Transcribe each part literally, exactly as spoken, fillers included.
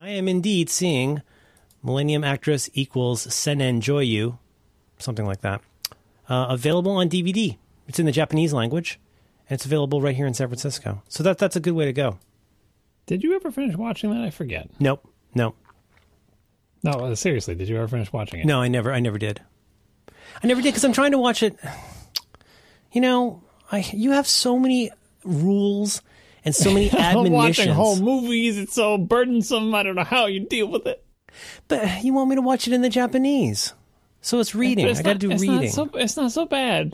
I am indeed seeing Millennium Actress equals Senen Joyu, something like that, uh, available on D V D. It's in the Japanese language, and it's available right here in San Francisco. So that that's a good way to go. Did you ever finish watching that? I forget. Nope, no. No, seriously, did you ever finish watching it? No, I never, I never did. I never did because I'm trying to watch it. You know, I you have so many rules and so many admonitions. Watching whole movies, it's so burdensome. I don't know how you deal with it. But you want me to watch it in the Japanese. So it's reading. It's I got to do it's reading. Not so, it's not so bad.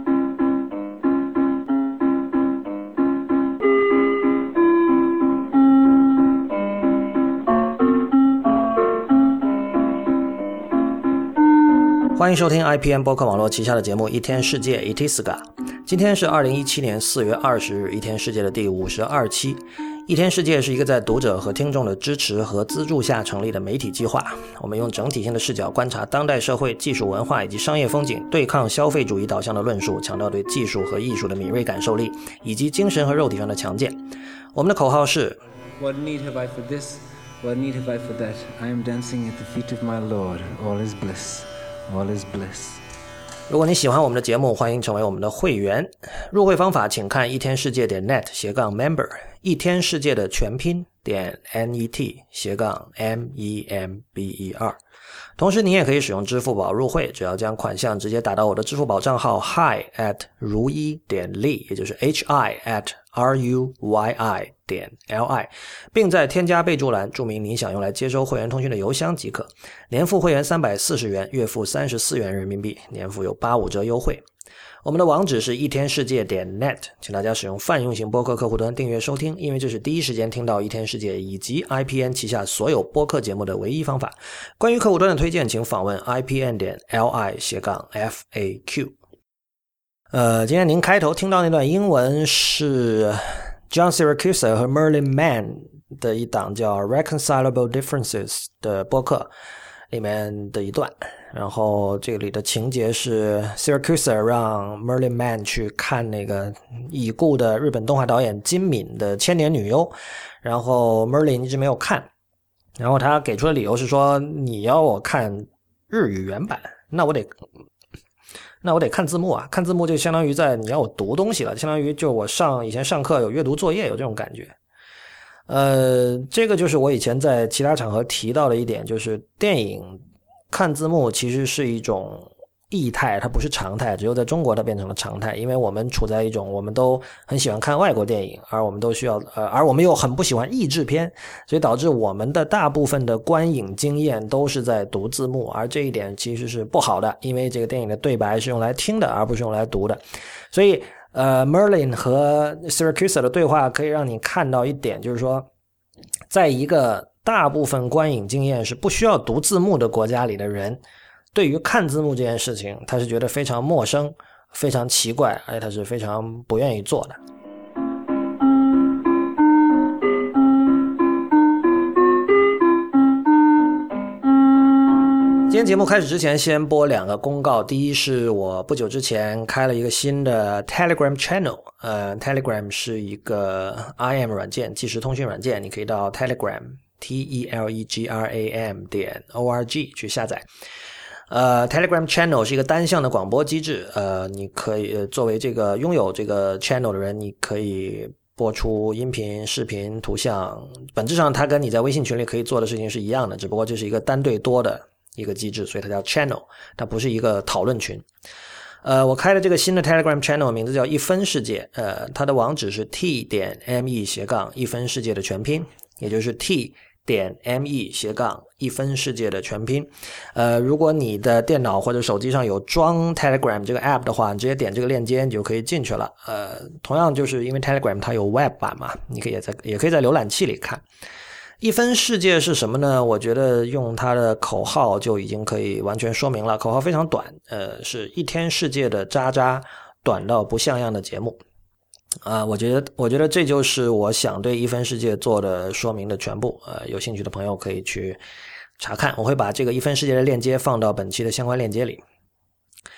欢迎收听 I P N 播客网络旗下的节目一天世界 Itiska。 今天是二零一七年四月二十日，一天世界的第五十二期。一天世界是一个在读者和听众的支持和资助下成立的媒体计划，我们用整体性的视角观察当代社会、技术文化以及商业风景，对抗消费主义导向的论述，强调对技术和艺术的敏锐感受力，以及精神和肉体上的强健。我们的口号是 What need have I for this? What need have I for that? I am dancing at the feet of my Lord. All is bliss.All is bliss. 如果你喜欢我们的节目，欢迎成为我们的会员。入会方法请看一天世界点 net 斜杠 member， 一天世界的全拼点 net 斜杠 m e m b e r。同时你也可以使用支付宝入会，只要将款项直接打到我的支付宝账号 hi at 如一点 li， 也就是 hi at r u y i 点 l i， 并在添加备注栏注明你想用来接收会员通讯的邮箱即可。年付会员三百四十元，月付三十四元人民币，年付有八五折优惠。我们的网址是一天世界点 net， 请大家使用泛用型播客客户端订阅收听，因为这是第一时间听到一天世界以及 I P N 旗下所有播客节目的唯一方法。关于客户端的推荐，请访问 I P N 点 L I 斜杠 F A Q。 呃，今天您开头听到那段英文是 John Siracusa 和 Merlin Mann 的一档叫 Reconcilable Differences 的播客里面的一段，然后这里的情节是 Siracusa 让 Merlin Mann 去看那个已故的日本动画导演金敏的千年女优，然后 Merlin 一直没有看，然后他给出的理由是说，你要我看日语原版，那我得那我得看字幕啊，看字幕就相当于在你要我读东西了，相当于就我上以前上课有阅读作业，有这种感觉。呃，这个就是我以前在其他场合提到的一点，就是电影看字幕其实是一种异态，它不是常态，只有在中国它变成了常态，因为我们处在一种我们都很喜欢看外国电影，而我们都需要呃，而我们又很不喜欢译制片，所以导致我们的大部分的观影经验都是在读字幕，而这一点其实是不好的，因为这个电影的对白是用来听的，而不是用来读的。所以呃 Merlin 和 Siracusa 的对话可以让你看到一点，就是说在一个大部分观影经验是不需要读字幕的国家里的人，对于看字幕这件事情他是觉得非常陌生，非常奇怪，而且他是非常不愿意做的。今天节目开始之前先播两个公告，第一是我不久之前开了一个新的 Telegram Channel， 呃 Telegram 是一个 I M 软件，即时通讯软件，你可以到 Telegram T E L E G R A M 点 O R G 去下载。呃 Telegram Channel 是一个单向的广播机制，呃你可以、呃、作为这个拥有这个 Channel 的人，你可以播出音频、视频、图像，本质上它跟你在微信群里可以做的事情是一样的，只不过这是一个单对多的一个机制，所以它叫 Channel， 它不是一个讨论群。呃，我开的这个新的 Telegram Channel 名字叫一分世界，呃，它的网址是 t 点 me 斜杠一分世界的全拼，也就是 t 点 me 斜杠一分世界的全拼。呃，如果你的电脑或者手机上有装 Telegram 这个 app 的话，你直接点这个链接你就可以进去了。呃，同样就是因为 Telegram 它有 web 版嘛，你可以在也可以在浏览器里看。一分世界是什么呢？我觉得用它的口号就已经可以完全说明了，口号非常短，呃，是一天世界的渣渣，短到不像样的节目。啊、呃，我觉得，我觉得这就是我想对一分世界做的说明的全部。呃，有兴趣的朋友可以去查看，我会把这个一分世界的链接放到本期的相关链接里。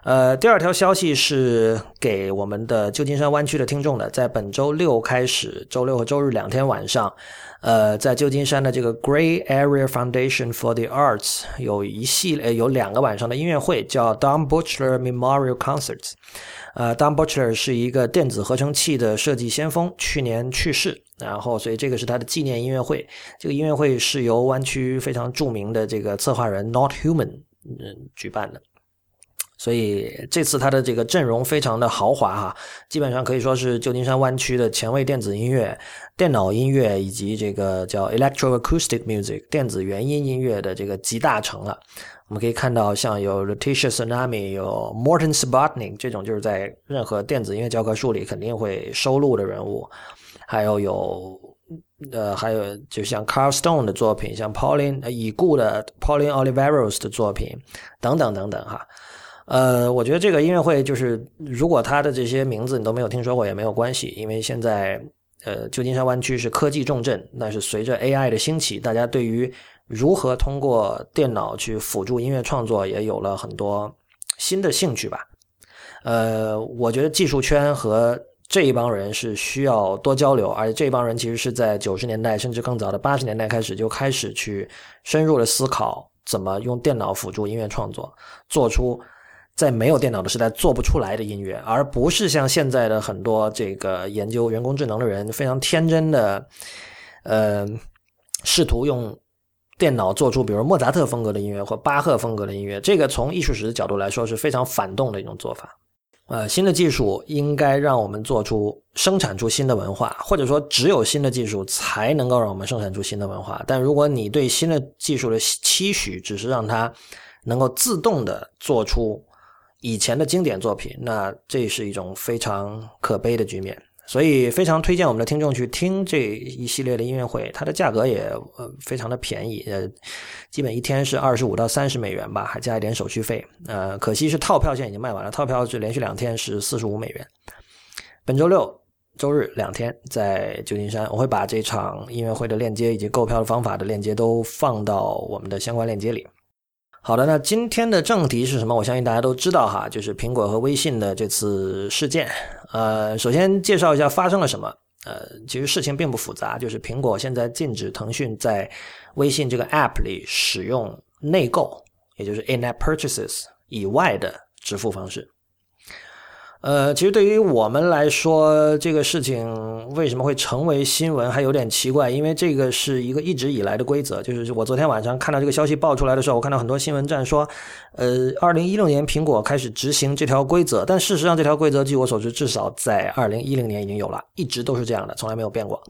呃，第二条消息是给我们的旧金山湾区的听众的，在本周六开始，周六和周日两天晚上，呃，在旧金山的这个 Gray Area Foundation for the Arts 有一系列有两个晚上的音乐会，叫 Don Butcher Memorial Concerts。呃 Don Butcher 是一个电子合成器的设计先锋，去年去世，然后所以这个是他的纪念音乐会。这个音乐会是由湾区非常著名的这个策划人 Not Human、嗯、举办的。所以这次他的这个阵容非常的豪华哈，基本上可以说是旧金山湾区的前卫电子音乐、电脑音乐以及这个叫 Electroacoustic Music 电子原音音乐的这个集大成了。我们可以看到像有 Letitia Tsunami 有 Morton Subotnick 这种就是在任何电子音乐教科书里肯定会收录的人物，还有有呃，还有就像 Carl Stone 的作品，像 Pauline、呃、已故的 Pauline Oliveros 的作品等等等等哈。呃，我觉得这个音乐会就是如果他的这些名字你都没有听说过也没有关系，因为现在呃旧金山湾区是科技重镇，但是随着 A I 的兴起，大家对于如何通过电脑去辅助音乐创作也有了很多新的兴趣吧。呃，我觉得技术圈和这一帮人是需要多交流，而且这一帮人其实是在九十年代甚至更早的八十年代开始就开始去深入的思考怎么用电脑辅助音乐创作，做出在没有电脑的时代做不出来的音乐，而不是像现在的很多这个研究人工智能的人非常天真的呃，试图用电脑做出比如莫扎特风格的音乐或巴赫风格的音乐，这个从艺术史的角度来说是非常反动的一种做法。呃，新的技术应该让我们做出生产出新的文化，或者说只有新的技术才能够让我们生产出新的文化。但如果你对新的技术的期许只是让它能够自动的做出以前的经典作品，那这是一种非常可悲的局面。所以非常推荐我们的听众去听这一系列的音乐会，它的价格也呃非常的便宜，呃，基本一天是二十五到三十美元吧，还加一点手续费。呃，可惜是套票现在已经卖完了，套票是连续两天是四十五美元。本周六、周日两天在旧金山，我会把这场音乐会的链接以及购票的方法的链接都放到我们的相关链接里。好的，那今天的正题是什么？我相信大家都知道哈，就是苹果和微信的这次事件。呃，首先介绍一下发生了什么。呃，其实事情并不复杂，就是苹果现在禁止腾讯在微信这个 App 里使用内购，也就是 in-app purchases 以外的支付方式。呃，其实对于我们来说，这个事情为什么会成为新闻还有点奇怪，因为这个是一个一直以来的规则。就是我昨天晚上看到这个消息爆出来的时候，我看到很多新闻站说，呃，二零一六年苹果开始执行这条规则，但事实上这条规则据我所知至少在二零一零年已经有了，一直都是这样的，从来没有变过。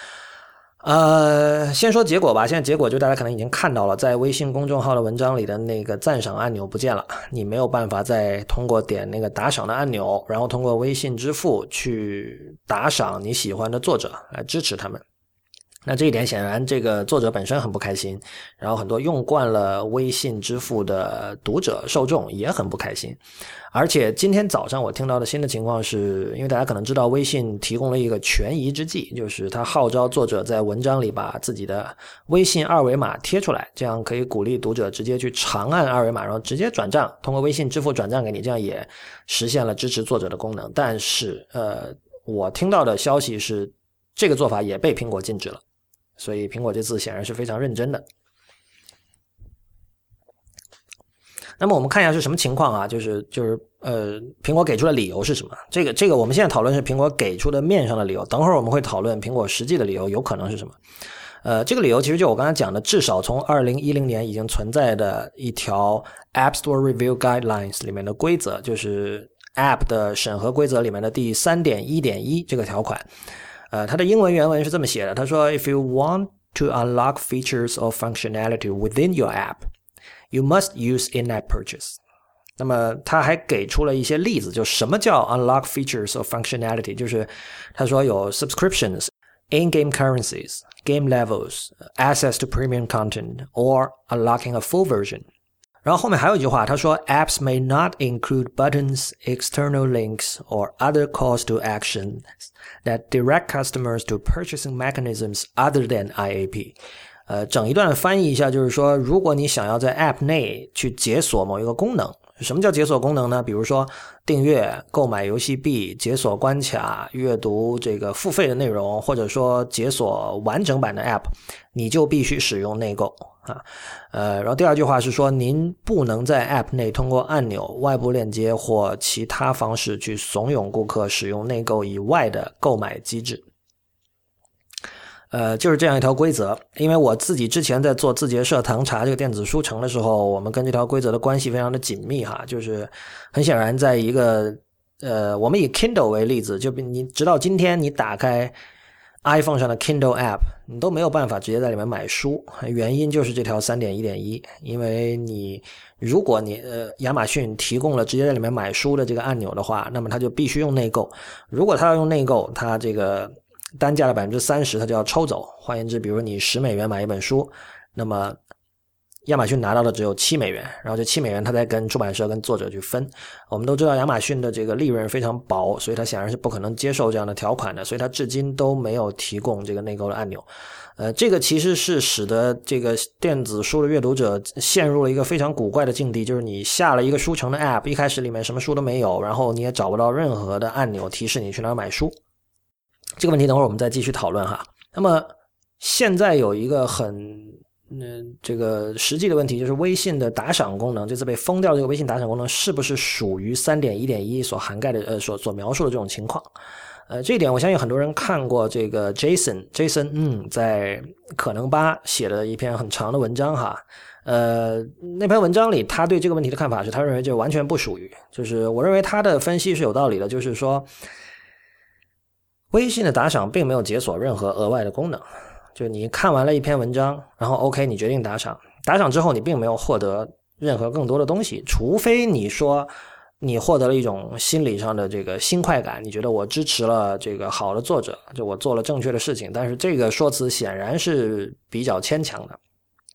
呃，先说结果吧。现在结果就大家可能已经看到了，在微信公众号的文章里的那个赞赏按钮不见了，你没有办法再通过点那个打赏的按钮，然后通过微信支付去打赏你喜欢的作者来支持他们。那这一点显然这个作者本身很不开心，然后很多用惯了微信支付的读者受众也很不开心。而且今天早上我听到的新的情况是，因为大家可能知道微信提供了一个权宜之计，就是他号召作者在文章里把自己的微信二维码贴出来，这样可以鼓励读者直接去长按二维码，然后直接转账，通过微信支付转账给你，这样也实现了支持作者的功能。但是呃，我听到的消息是这个做法也被苹果禁止了，所以苹果这次显然是非常认真的。那么我们看一下是什么情况啊？就是就是呃，苹果给出的理由是什么？这个这个我们现在讨论是苹果给出的面上的理由，等会儿我们会讨论苹果实际的理由有可能是什么。呃，这个理由其实就我刚才讲的，至少从二零一零年已经存在的一条 App Store Review Guidelines 里面的规则，就是 App 的审核规则里面的第 三点一点一 这个条款。呃，它的英文原文是这么写的，他说 If you want to unlock features or functionality within your app, you must use in-app purchase. 那么他还给出了一些例子，就什么叫 unlock features or functionality， 就是他说有 subscriptions, in-game currencies, game levels, access to premium content, or unlocking a full version. 然后后面还有一句话，他说 apps may not include buttons, external links, or other calls to action that direct customers to purchasing mechanisms other than I A P. 呃，整一段翻译一下就是说，如果你想要在 app 内去解锁某一个功能， 什么叫解锁功能呢？比如说订阅、购买游戏币、解锁关卡、阅读这个付费的内容，或者说解锁完整版的 App， 你就必须使用内购啊。呃，然后第二句话是说，您不能在 App 内通过按钮、外部链接或其他方式去怂恿顾客使用内购以外的购买机制。呃，就是这样一条规则。因为我自己之前在做字节社堂茶这个电子书城的时候，我们跟这条规则的关系非常的紧密哈。就是很显然，在一个呃，我们以 Kindle 为例子，就你直到今天，你打开 iPhone 上的 Kindle App， 你都没有办法直接在里面买书，原因就是这条 三点一点一。因为你如果你呃亚马逊提供了直接在里面买书的这个按钮的话，那么它就必须用内购。如果它要用内购，它这个单价的 百分之三十 它就要抽走。换言之，比如你十美元买一本书，那么亚马逊拿到的只有七美元，然后这七美元它再跟出版社跟作者去分。我们都知道亚马逊的这个利润非常薄，所以它显然是不可能接受这样的条款的，所以它至今都没有提供这个内购的按钮。呃，这个其实是使得这个电子书的阅读者陷入了一个非常古怪的境地，就是你下了一个书城的 App， 一开始里面什么书都没有，然后你也找不到任何的按钮提示你去哪儿买书。这个问题等会儿我们再继续讨论哈。那么现在有一个很嗯、呃，这个实际的问题，就是微信的打赏功能，这次被封掉的这个微信打赏功能是不是属于 三点一点一 所涵盖的呃所所描述的这种情况。呃，这一点我相信很多人看过这个 Jason Jason 嗯在可能吧写了一篇很长的文章哈。呃，那篇文章里他对这个问题的看法是，他认为这完全不属于，就是我认为他的分析是有道理的，就是说微信的打赏并没有解锁任何额外的功能。就你看完了一篇文章，然后 OK 你决定打赏，打赏之后你并没有获得任何更多的东西，除非你说你获得了一种心理上的这个新快感，你觉得我支持了这个好的作者，就我做了正确的事情，但是这个说辞显然是比较牵强的。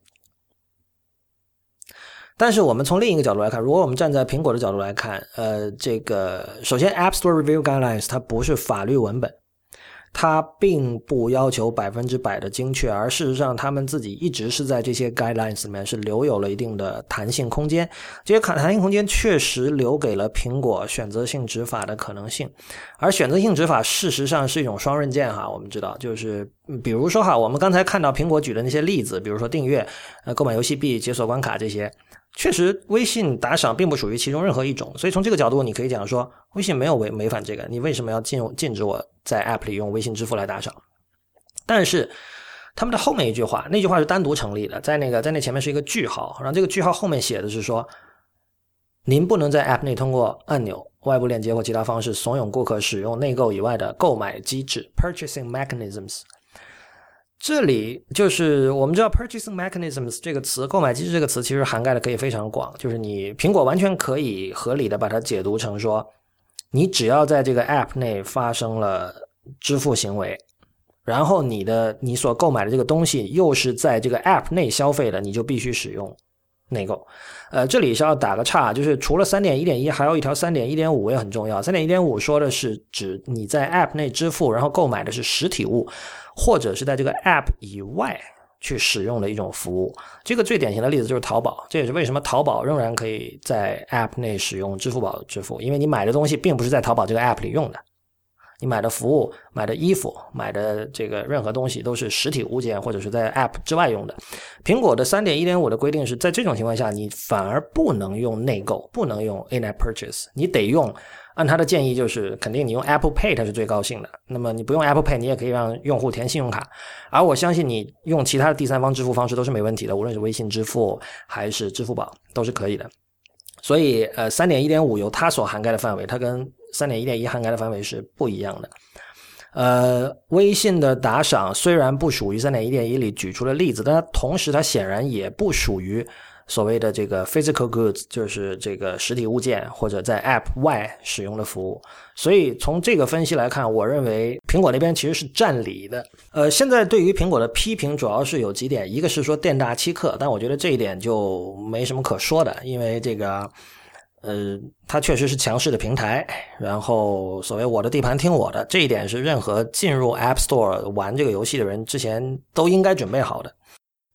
但是我们从另一个角度来看，如果我们站在苹果的角度来看，呃，这个首先 App Store Review Guidelines 它不是法律文本，它并不要求百分之百的精确，而事实上他们自己一直是在这些 guidelines 里面是留有了一定的弹性空间，这些弹性空间确实留给了苹果选择性执法的可能性。而选择性执法事实上是一种双刃剑哈，我们知道就是比如说哈，我们刚才看到苹果举的那些例子，比如说订阅、呃购买游戏币、解锁关卡这些，确实微信打赏并不属于其中任何一种，所以从这个角度你可以讲说微信没有违违反这个，你为什么要禁禁止我在 App 里用微信支付来打赏？但是他们的后面一句话，那句话是单独成立的，在那个在那前面是一个句号，然后这个句号后面写的是说，您不能在 App 内通过按钮、外部链接或其他方式怂恿顾客使用内购以外的购买机制 （purchasing mechanisms）。这里就是我们知道 purchasing mechanisms 这个词，购买机制这个词其实涵盖的可以非常广，就是你苹果完全可以合理的把它解读成说，你只要在这个 app 内发生了支付行为，然后你的你所购买的这个东西又是在这个 app 内消费的，你就必须使用内购。呃，这里是要打个岔，就是除了 三点一点一 还有一条 三点一点五 也很重要。 三点一点五 说的是指你在 app 内支付，然后购买的是实体物，或者是在这个 app 以外去使用的一种服务。这个最典型的例子就是淘宝，这也是为什么淘宝仍然可以在 app 内使用支付宝支付，因为你买的东西并不是在淘宝这个 app 里用的，你买的服务、买的衣服、买的这个任何东西都是实体物件或者是在 app 之外用的。苹果的 三点一点五 的规定是在这种情况下你反而不能用内购，不能用 in-app purchase， 你得用，按他的建议就是肯定你用 Apple Pay 它是最高兴的，那么你不用 Apple Pay 你也可以让用户填信用卡，而我相信你用其他的第三方支付方式都是没问题的，无论是微信支付还是支付宝都是可以的。所以呃 三点一点五 有它所涵盖的范围，它跟 三点一点一 涵盖的范围是不一样的。呃，微信的打赏虽然不属于 三点一点一 里举出的例子，但它同时它显然也不属于所谓的这个 physical goods， 就是这个实体物件或者在 app 外使用的服务。所以从这个分析来看，我认为苹果那边其实是占理的。呃，现在对于苹果的批评主要是有几点，一个是说店大欺客，但我觉得这一点就没什么可说的，因为这个呃，它确实是强势的平台，然后所谓我的地盘听我的，这一点是任何进入 App Store 玩这个游戏的人之前都应该准备好的。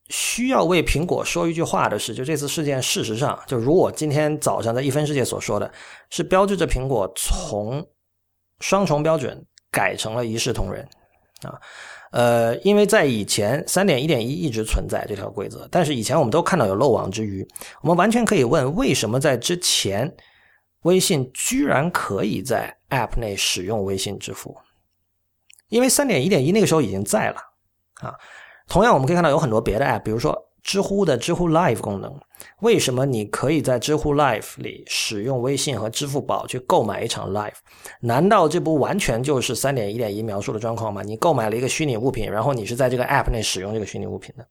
需要为苹果说一句话的是，就这次事件事实上就如我今天早上在一分世界所说的，是标志着苹果从双重标准改成了一视同仁啊。呃，因为在以前 三点一点一 一直存在这条规则，但是以前我们都看到有漏网之鱼，我们完全可以问为什么在之前微信居然可以在 App 内使用微信支付。因为 三点一点一 那个时候已经在了啊。同样我们可以看到有很多别的 App， 比如说知乎的知乎 Live 功能，为什么你可以在知乎 Live 里使用微信和支付宝去购买一场 Live？ 难道这不完全就是 三点一点一 描述的状况吗？你购买了一个虚拟物品，然后你是在这个 App 内使用这个虚拟物品的。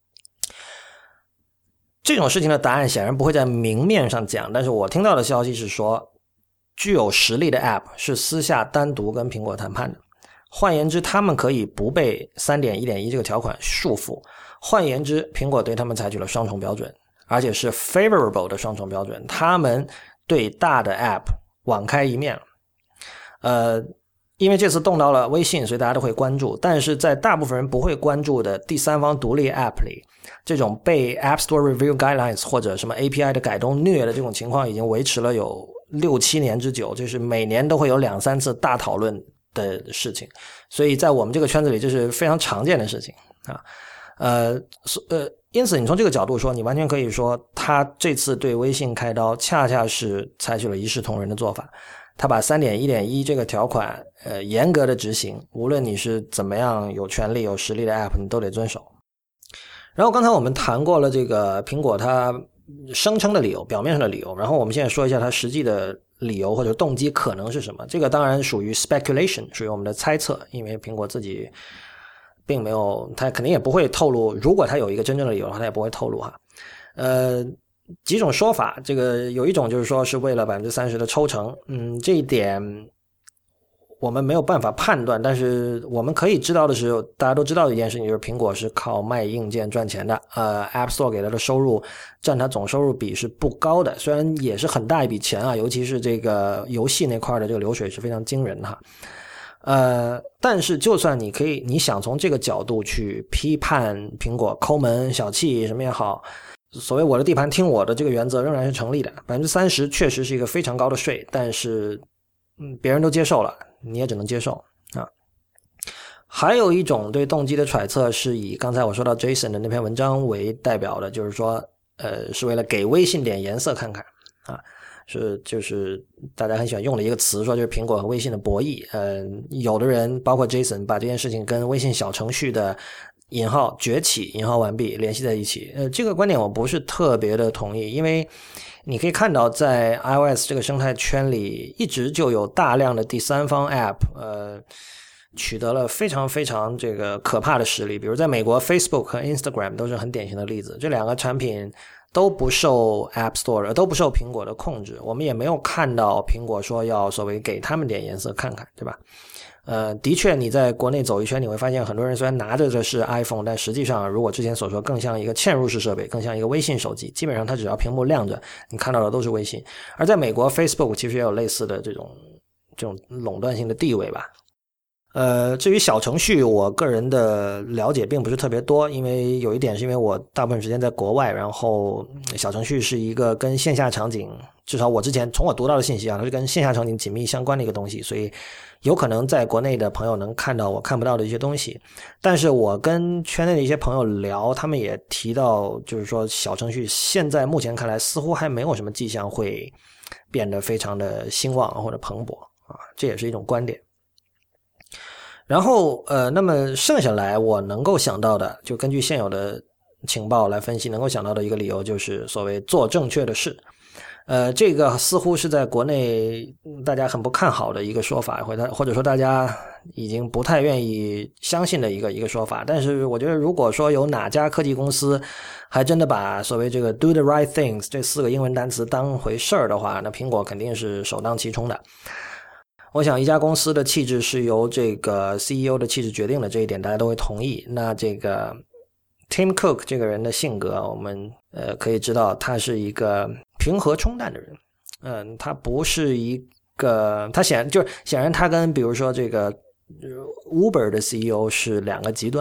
这种事情的答案显然不会在明面上讲，但是我听到的消息是说，具有实力的 App 是私下单独跟苹果谈判的。换言之，他们可以不被 三点一点一 这个条款束缚。换言之，苹果对他们采取了双重标准，而且是 favorable 的双重标准。他们对大的 App 网开一面了。呃，因为这次动到了微信，所以大家都会关注。但是在大部分人不会关注的第三方独立 App 里，这种被 App Store Review Guidelines 或者什么 A P I 的改动虐的这种情况已经维持了有六七年之久，就是每年都会有两三次大讨论的事情，所以在我们这个圈子里这是非常常见的事情啊。呃呃，因此你从这个角度说，你完全可以说他这次对微信开刀恰恰是采取了一视同仁的做法，他把 三点一点一 这个条款呃严格的执行，无论你是怎么样有权利有实力的 App 你都得遵守。然后刚才我们谈过了这个苹果它声称的理由，表面上的理由，然后我们现在说一下它实际的理由或者动机可能是什么。这个当然属于 speculation， 属于我们的猜测，因为苹果自己并没有，他肯定也不会透露，如果他有一个真正的理由的话，他也不会透露哈。呃，几种说法，这个有一种就是说是为了 百分之三十 的抽成，嗯，这一点我们没有办法判断，但是我们可以知道的是，大家都知道的一件事情就是苹果是靠卖硬件赚钱的，呃 App Store 给它的收入占它总收入比是不高的，虽然也是很大一笔钱啊，尤其是这个游戏那块的这个流水是非常惊人的哈。呃，但是就算你可以，你想从这个角度去批判苹果抠门小气什么也好，所谓我的地盘听我的这个原则仍然是成立的。 百分之三十 确实是一个非常高的税，但是嗯，别人都接受了，你也只能接受啊。还有一种对动机的揣测是以刚才我说到 Jason 的那篇文章为代表的，就是说呃，是为了给微信点颜色看看啊。是就是大家很喜欢用的一个词，说就是苹果和微信的博弈。呃，有的人包括 Jason 把这件事情跟微信小程序的引号崛起引号完毕联系在一起。呃，这个观点我不是特别的同意，因为你可以看到在 iOS 这个生态圈里一直就有大量的第三方 App 呃取得了非常非常这个可怕的实力，比如在美国 Facebook 和 Instagram 都是很典型的例子。这两个产品都不受 App Store 都不受苹果的控制，我们也没有看到苹果说要所谓给他们点颜色看看，对吧？呃，的确你在国内走一圈你会发现很多人虽然拿着的是 iPhone， 但实际上如果之前所说更像一个嵌入式设备，更像一个微信手机，基本上它只要屏幕亮着你看到的都是微信。而在美国 Facebook 其实也有类似的这种这种垄断性的地位吧。呃，至于小程序，我个人的了解并不是特别多，因为有一点是因为我大部分时间在国外，然后小程序是一个跟线下场景，至少我之前从我读到的信息啊，它是跟线下场景紧密相关的一个东西，所以有可能在国内的朋友能看到我看不到的一些东西。但是我跟圈内的一些朋友聊，他们也提到，就是说小程序现在目前看来似乎还没有什么迹象会变得非常的兴旺或者蓬勃啊，这也是一种观点。然后呃，那么剩下来我能够想到的，就根据现有的情报来分析，能够想到的一个理由就是所谓做正确的事。呃，这个似乎是在国内大家很不看好的一个说法，或者或者说大家已经不太愿意相信的一个一个说法。但是我觉得如果说有哪家科技公司还真的把所谓这个 do the right things 这四个英文单词当回事儿的话，那苹果肯定是首当其冲的。我想一家公司的气质是由这个 C E O 的气质决定的，这一点大家都会同意。那这个 Tim Cook 这个人的性格，我们呃可以知道他是一个平和冲淡的人。嗯，他不是一个，他显然就是显然他跟比如说这个 Uber 的 C E O 是两个极端。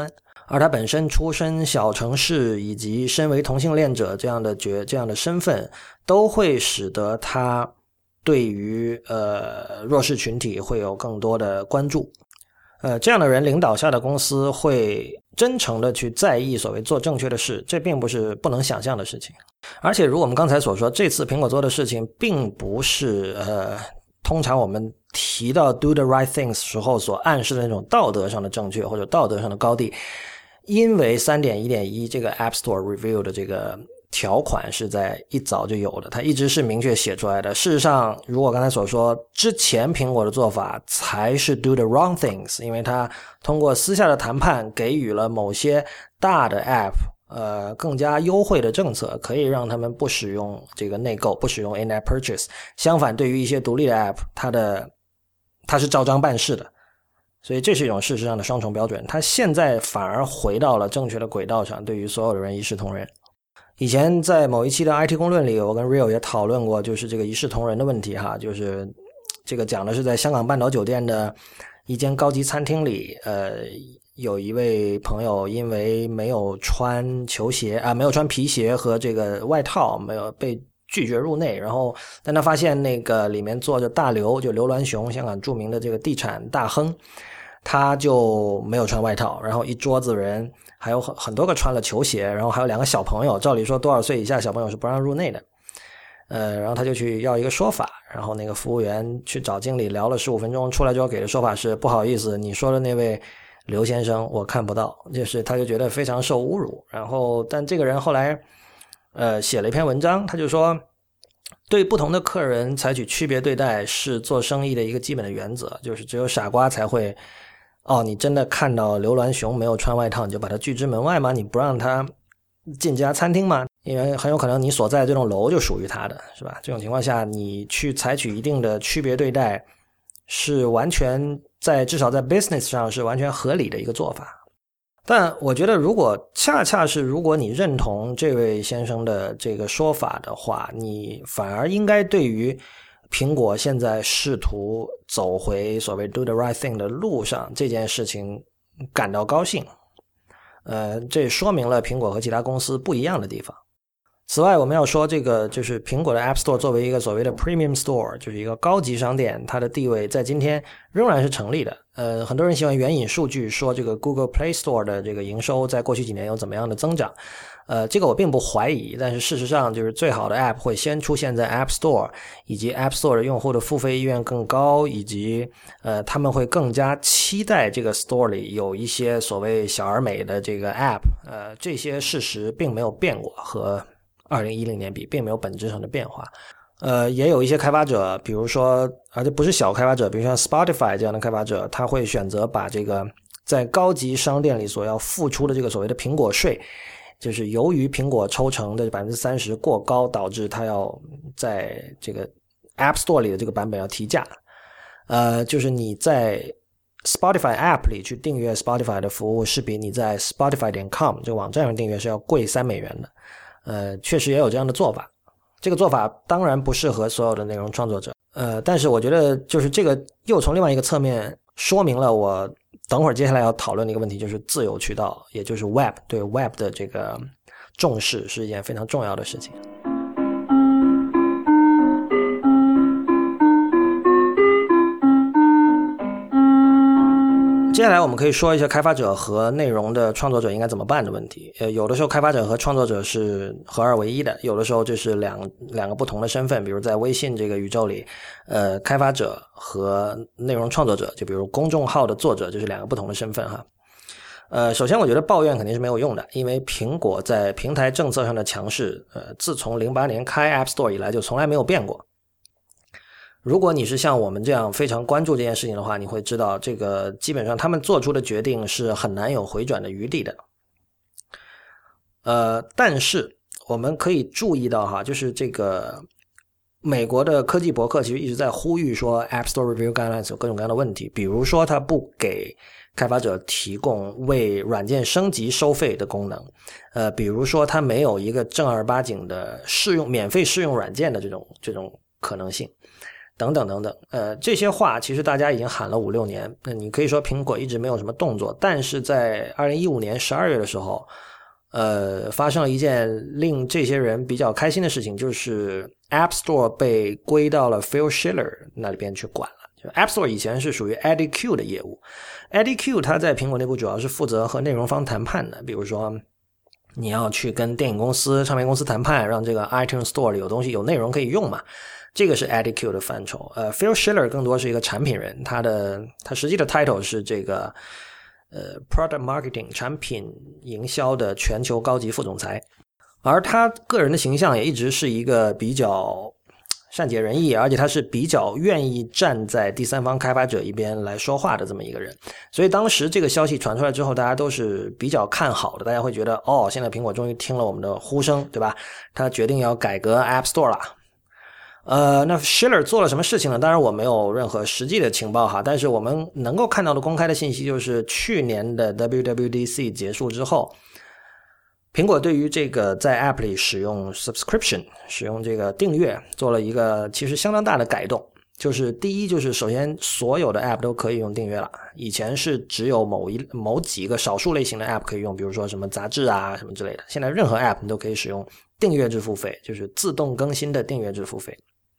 而他本身出身小城市以及身为同性恋者这样的角这样的身份，都会使得他对于呃弱势群体会有更多的关注。呃，这样的人领导下的公司会真诚的去在意所谓做正确的事，这并不是不能想象的事情。而且如我们刚才所说，这次苹果做的事情并不是呃通常我们提到 do the right things 时候所暗示的那种道德上的正确或者道德上的高地。因为 三点一点一 这个 App Store Review 的这个条款是在一早就有的，它一直是明确写出来的。事实上，如果刚才所说，之前苹果的做法才是 do the wrong things， 因为它通过私下的谈判给予了某些大的 App 呃更加优惠的政策，可以让他们不使用这个内购，不使用 in-app purchase。相反，对于一些独立的 App， 它的它是照章办事的。所以这是一种事实上的双重标准，它现在反而回到了正确的轨道上，对于所有的人一视同仁。以前在某一期的 I T 公论里，我跟 Rio 也讨论过就是这个一视同仁的问题哈，就是这个讲的是在香港半岛酒店的一间高级餐厅里，呃，有一位朋友因为没有穿球鞋啊，没有穿皮鞋和这个外套，没有被拒绝入内，然后但他发现那个里面坐着大刘，就刘銮雄，香港著名的这个地产大亨，他就没有穿外套，然后一桌子人还有很很多个穿了球鞋，然后还有两个小朋友，照理说多少岁以下小朋友是不让入内的。呃，然后他就去要一个说法，然后那个服务员去找经理聊了十五分钟，出来之后给的说法是不好意思，你说的那位刘先生我看不到，就是他就觉得非常受侮辱。然后但这个人后来呃写了一篇文章，他就说对不同的客人采取区别对待是做生意的一个基本的原则，就是只有傻瓜才会哦，你真的看到刘銮雄没有穿外套你就把他拒之门外吗？你不让他进这家餐厅吗？因为很有可能你所在的这栋楼就属于他的，是吧？这种情况下你去采取一定的区别对待是完全在至少在 business 上是完全合理的一个做法。但我觉得如果恰恰是如果你认同这位先生的这个说法的话，你反而应该对于苹果现在试图走回所谓 do the right thing 的路上这件事情感到高兴。呃，这说明了苹果和其他公司不一样的地方。此外，我们要说这个就是苹果的 App Store 作为一个所谓的 Premium Store， 就是一个高级商店，它的地位在今天仍然是成立的。呃，很多人喜欢援引数据说这个 Google Play Store 的这个营收在过去几年有怎么样的增长。呃，这个我并不怀疑，但是事实上就是最好的 App 会先出现在 App Store， 以及 App Store 的用户的付费意愿更高，以及呃他们会更加期待这个 Store 里有一些所谓小而美的这个 App。呃，这些事实并没有变过，和二零一零年比并没有本质上的变化。呃，也有一些开发者，比如说而且不是小开发者，比如像 Spotify 这样的开发者，他会选择把这个在高级商店里所要付出的这个所谓的苹果税，就是由于苹果抽成的 百分之三十 过高，导致他要在这个 App Store 里的这个版本要提价。呃，就是你在 Spotify App 里去订阅 Spotify 的服务是比你在 Spotify 点 com 这个网站上订阅是要贵三美元的。呃，确实也有这样的做法。这个做法当然不适合所有的内容创作者。呃，但是我觉得就是这个又从另外一个侧面说明了我等会儿接下来要讨论的一个问题，就是自由渠道，也就是 Web 对 Web 的这个重视是一件非常重要的事情。接下来我们可以说一下开发者和内容的创作者应该怎么办的问题。呃，有的时候开发者和创作者是合二为一的，有的时候这是两两个不同的身份。比如在微信这个宇宙里，呃，开发者和内容创作者，就比如公众号的作者，就是两个不同的身份哈。呃，首先我觉得抱怨肯定是没有用的，因为苹果在平台政策上的强势，呃，自从零八年开 App Store 以来就从来没有变过。如果你是像我们这样非常关注这件事情的话，你会知道这个基本上他们做出的决定是很难有回转的余地的。呃，但是我们可以注意到哈，就是这个美国的科技博客其实一直在呼吁说 App Store Review Guidelines 有各种各样的问题，比如说它不给开发者提供为软件升级收费的功能，呃，比如说它没有一个正儿八经的试用免费试用软件的这种这种可能性。 等等等等。呃，这些话其实大家已经喊了五六年，那你可以说苹果一直没有什么动作，但是在二零一五年十二月的时候，呃，发生了一件令这些人比较开心的事情，就是 App Store 被归到了 Phil Schiller 那里边去管了。就 App Store 以前是属于 Eddie Q 的业务， Eddie Q 他在苹果内部主要是负责和内容方谈判的，比如说你要去跟电影公司、唱片公司谈判，让这个 iTunes Store 里有东西有内容可以用嘛，这个是 Eddie Q 的范畴。呃 Phil Schiller 更多是一个产品人，他的他实际的 title 是这个呃 Product Marketing 产品营销的全球高级副总裁，而他个人的形象也一直是一个比较善解人意，而且他是比较愿意站在第三方开发者一边来说话的这么一个人。所以当时这个消息传出来之后，大家都是比较看好的，大家会觉得哦，现在苹果终于听了我们的呼声，对吧？他决定要改革 App Store 了。呃，那 Schiller 做了什么事情呢？当然我没有任何实际的情报哈，但是我们能够看到的公开的信息就是去年的 W W D C 结束之后，苹果对于这个在 App 里使用 subscription 使用这个订阅做了一个其实相当大的改动。就是第一，就是首先所有的 App 都可以用订阅了，以前是只有某一某几个少数类型的 App 可以用，比如说什么杂志啊什么之类的，现在任何 App 你都可以使用订阅制付费，就是自动更新的订阅制付费。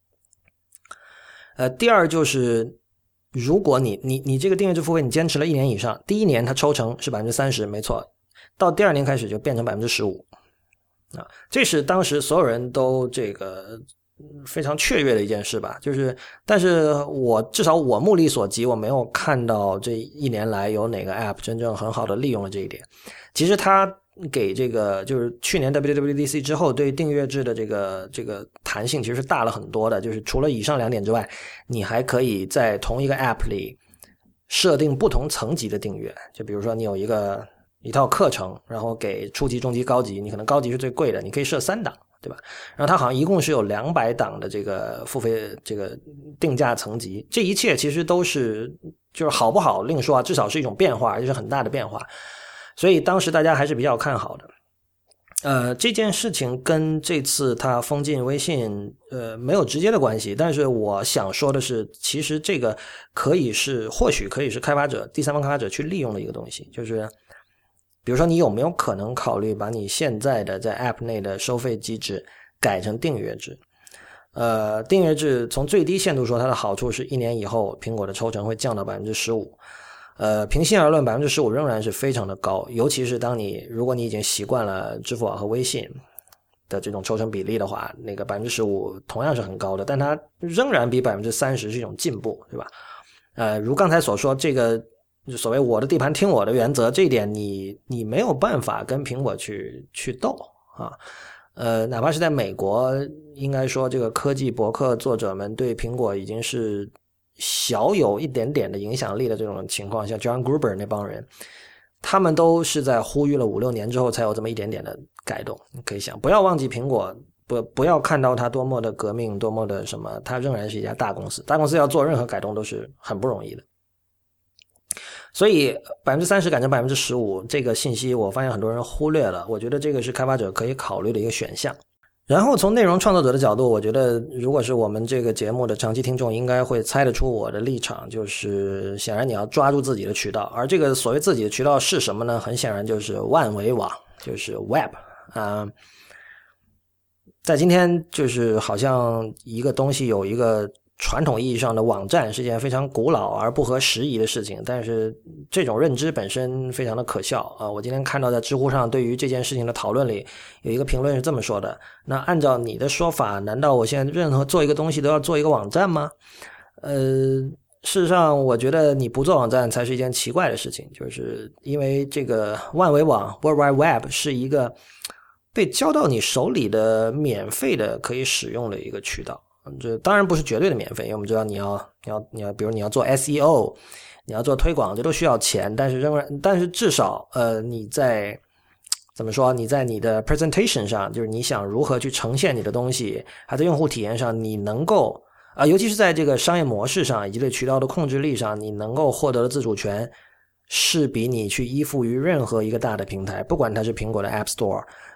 呃，第二就是如果你你你这个订阅制付费你坚持了一年以上，第一年它抽成是 百分之三十 没错，到第二年开始就变成 百分之十五 啊，这是当时所有人都这个非常雀跃的一件事吧。就是但是我至少我目力所及，我没有看到这一年来有哪个 App 真正很好的利用了这一点。其实它给这个就是去年 W W D C 之后对订阅制的这个这个弹性其实是大了很多的，就是除了以上两点之外，你还可以在同一个 App 里设定不同层级的订阅，就比如说你有一个一套课程，然后给初级、中级、高级，你可能高级是最贵的，你可以设三档，对吧？然后它好像一共是有两百档的这个付费这个定价层级，这一切其实都是就是好不好另说啊，至少是一种变化，而且是很大的变化。所以当时大家还是比较看好的。呃，这件事情跟这次他封禁微信呃没有直接的关系，但是我想说的是，其实这个可以是或许可以是开发者第三方开发者去利用的一个东西，就是比如说你有没有可能考虑把你现在的在 App 内的收费机制改成订阅制。呃，订阅制从最低限度说它的好处是一年以后苹果的抽成会降到 百分之十五。呃，平心而论 百分之十五 仍然是非常的高，尤其是当你如果你已经习惯了支付宝和微信的这种抽成比例的话，那个 百分之十五 同样是很高的，但它仍然比 百分之三十 是一种进步，对吧？呃，如刚才所说，这个所谓我的地盘听我的原则，这一点你你没有办法跟苹果去去斗啊。呃，哪怕是在美国，应该说这个科技博客作者们对苹果已经是小有一点点的影响力的这种情况，像 John Gruber 那帮人，他们都是在呼吁了五六年之后才有这么一点点的改动。你可以想，不要忘记苹果，不不要看到它多么的革命，多么的什么，它仍然是一家大公司，大公司要做任何改动都是很不容易的。所以 百分之三十 改成 百分之十五 这个信息我发现很多人忽略了，我觉得这个是开发者可以考虑的一个选项。然后从内容创作者的角度，我觉得如果是我们这个节目的长期听众应该会猜得出我的立场，就是显然你要抓住自己的渠道，而这个所谓自己的渠道是什么呢？很显然就是万维网，就是 Web 啊、呃。在今天就是好像一个东西有一个传统意义上的网站是件非常古老而不合时宜的事情，但是这种认知本身非常的可笑啊！我今天看到在知乎上对于这件事情的讨论里有一个评论是这么说的，那按照你的说法，难道我现在任何做一个东西都要做一个网站吗？呃，事实上我觉得你不做网站才是一件奇怪的事情，就是因为这个万维网 World Wide Web 是一个被交到你手里的免费的可以使用的一个渠道，这当然不是绝对的免费，因为我们知道你要你要你要比如你要做 S E O， 你要做推广，这都需要钱，但是仍然但是至少呃你在怎么说你在你的 presentation 上，就是你想如何去呈现你的东西，还在用户体验上你能够啊、呃、尤其是在这个商业模式上以及对渠道的控制力上，你能够获得的自主权是比你去依附于任何一个大的平台，不管它是苹果的 App Store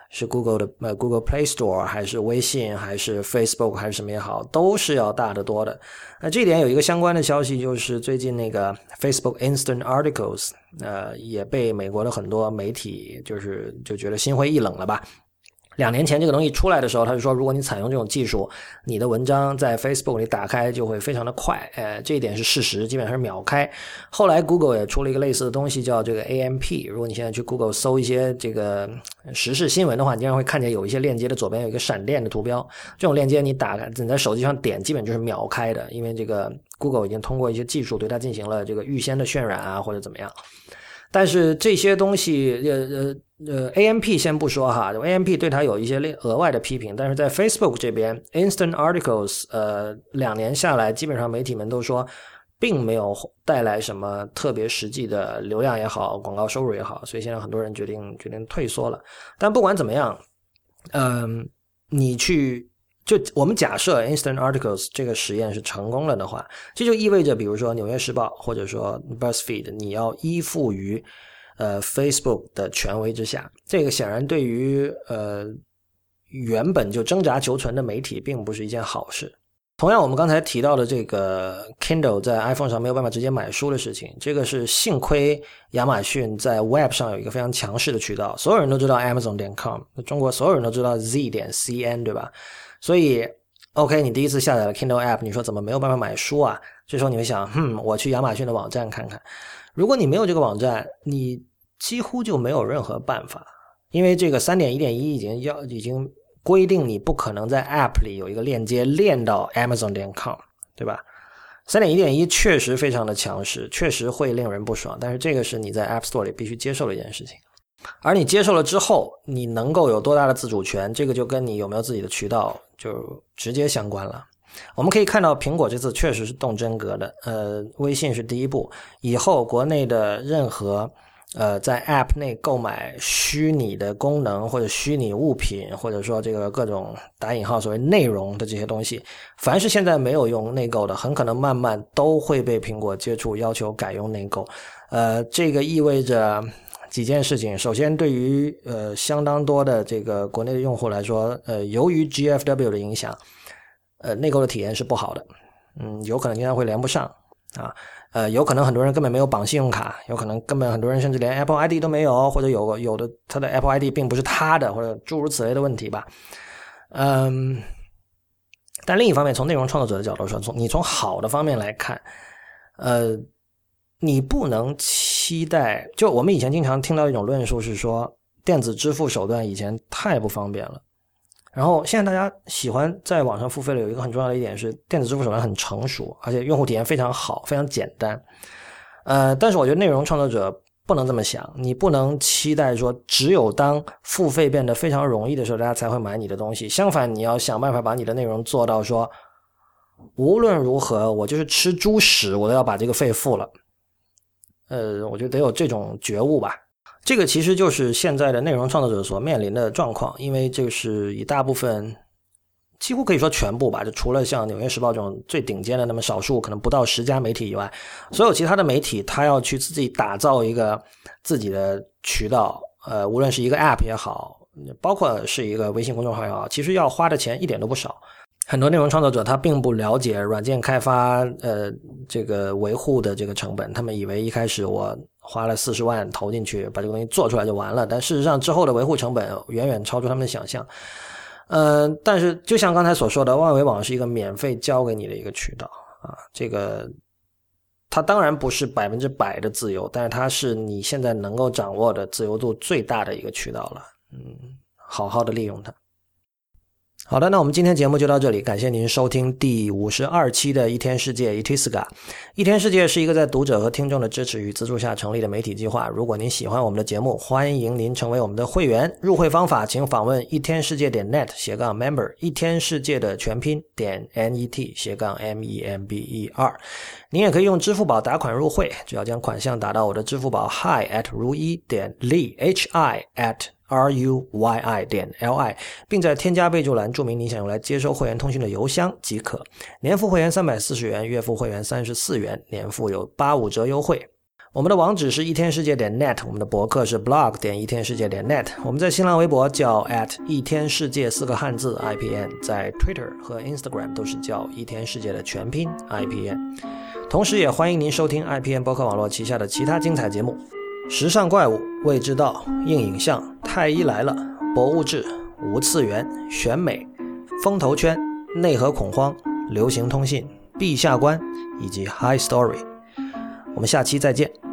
是 Google 的呃 Google Play Store 还是微信还是 Facebook 还是什么也好，都是要大得多的。那这一点有一个相关的消息，就是最近那个 Facebook Instant Articles 呃也被美国的很多媒体就是就觉得心灰意冷了吧。两年前这个东西出来的时候，他就说如果你采用这种技术，你的文章在 Facebook 里打开就会非常的快，呃，这一点是事实，基本上是秒开。后来 Google 也出了一个类似的东西叫这个 A M P， 如果你现在去 Google 搜一些这个时事新闻的话，你经常会看见有一些链接的左边有一个闪电的图标，这种链接你打开你在手机上点基本就是秒开的，因为这个 Google 已经通过一些技术对它进行了这个预先的渲染啊或者怎么样。但是这些东西呃呃呃 A M P 先不说哈 A M P 对它有一些额外的批评，但是在 Facebook 这边 Instant Articles 呃两年下来基本上媒体们都说并没有带来什么特别实际的流量也好广告收入也好，所以现在很多人决定决定退缩了。但不管怎么样嗯、呃，你去就我们假设 Instant Articles 这个实验是成功了的话，这就意味着比如说纽约时报或者说 BuzzFeed 你要依附于呃 Facebook 的权威之下，这个显然对于呃原本就挣扎求存的媒体并不是一件好事。同样我们刚才提到的这个 Kindle 在 iPhone 上没有办法直接买书的事情，这个是幸亏亚马逊在 Web 上有一个非常强势的渠道，所有人都知道 Amazon 点 com， 中国所有人都知道 Z 点 C N 对吧，所以 OK 你第一次下载了 Kindle App， 你说怎么没有办法买书啊，这时候你会想嗯，我去亚马逊的网站看看。如果你没有这个网站，你几乎就没有任何办法，因为这个 三点一点一 已经要已经规定你不可能在 App 里有一个链接链到 Amazon 点 com 对吧。 三点一点一 确实非常的强势，确实会令人不爽，但是这个是你在 App Store 里必须接受的一件事情。而你接受了之后，你能够有多大的自主权，这个就跟你有没有自己的渠道就直接相关了。我们可以看到苹果这次确实是动真格的，呃，微信是第一步，以后国内的任何呃在 App 内购买虚拟的功能或者虚拟物品，或者说这个各种打引号所谓内容的这些东西，凡是现在没有用内购的，很可能慢慢都会被苹果接触要求改用内购。呃，这个意味着几件事情。首先对于呃相当多的这个国内的用户来说，呃由于 G F W 的影响，呃内购的体验是不好的，嗯有可能经常会连不上啊，呃有可能很多人根本没有绑信用卡，有可能根本很多人甚至连 Apple I D 都没有，或者有有的他的 Apple I D 并不是他的，或者诸如此类的问题吧。嗯但另一方面从内容创作者的角度说，从你从好的方面来看，呃你不能期待，就我们以前经常听到一种论述是说电子支付手段以前太不方便了，然后现在大家喜欢在网上付费的有一个很重要的一点是电子支付手段很成熟，而且用户体验非常好，非常简单。呃，但是我觉得内容创作者不能这么想，你不能期待说只有当付费变得非常容易的时候大家才会买你的东西，相反你要想办法把你的内容做到说无论如何我就是吃猪屎我都要把这个费付了。呃，我觉得得有这种觉悟吧。这个其实就是现在的内容创作者所面临的状况，因为这个是以大部分几乎可以说全部吧，就除了像纽约时报这种最顶尖的那么少数可能不到十家媒体以外，所有其他的媒体他要去自己打造一个自己的渠道，呃，无论是一个 App 也好，包括是一个微信公众号也好，其实要花的钱一点都不少。很多内容创作者他并不了解软件开发呃这个维护的这个成本，他们以为一开始我花了四十万投进去把这个东西做出来就完了，但事实上之后的维护成本远远超出他们的想象。呃但是就像刚才所说的，万维网是一个免费教给你的一个渠道啊，这个它当然不是百分之百的自由，但是它是你现在能够掌握的自由度最大的一个渠道了，嗯好好的利用它。好的，那我们今天节目就到这里，感谢您收听第五十二期的一天世界 Itiska。 一天世界是一个在读者和听众的支持与资助下成立的媒体计划，如果您喜欢我们的节目，欢迎您成为我们的会员。入会方法请访问一天世界点 net 斜杠 member， 一天世界的全拼点 net 斜杠 m e m b e r。 您也可以用支付宝打款入会，只要将款项打到我的支付宝 hi at 如一点 li hi at R U Y I 点 L I， 并在添加备注栏注明你想用来接收会员通讯的邮箱即可。年付会员三百四十元，月付会员三十四元，年付有八五折优惠。 我们的网址是一天世界点 net， 我们的博客是 blog 点一天世界点 net， 我们在新浪微博叫 at 一天世界四个汉字 I P N， 在 Twitter 和 Instagram 都是叫一天世界的全拼 I P N。 同时也欢迎您收听 I P N 播客网络旗下的其他精彩节目，时尚怪物、未知道、硬影像、太医来了、博物志、无次元、选美、风投圈、内核恐慌、流行通信、陛下观以及 High Story。我们下期再见。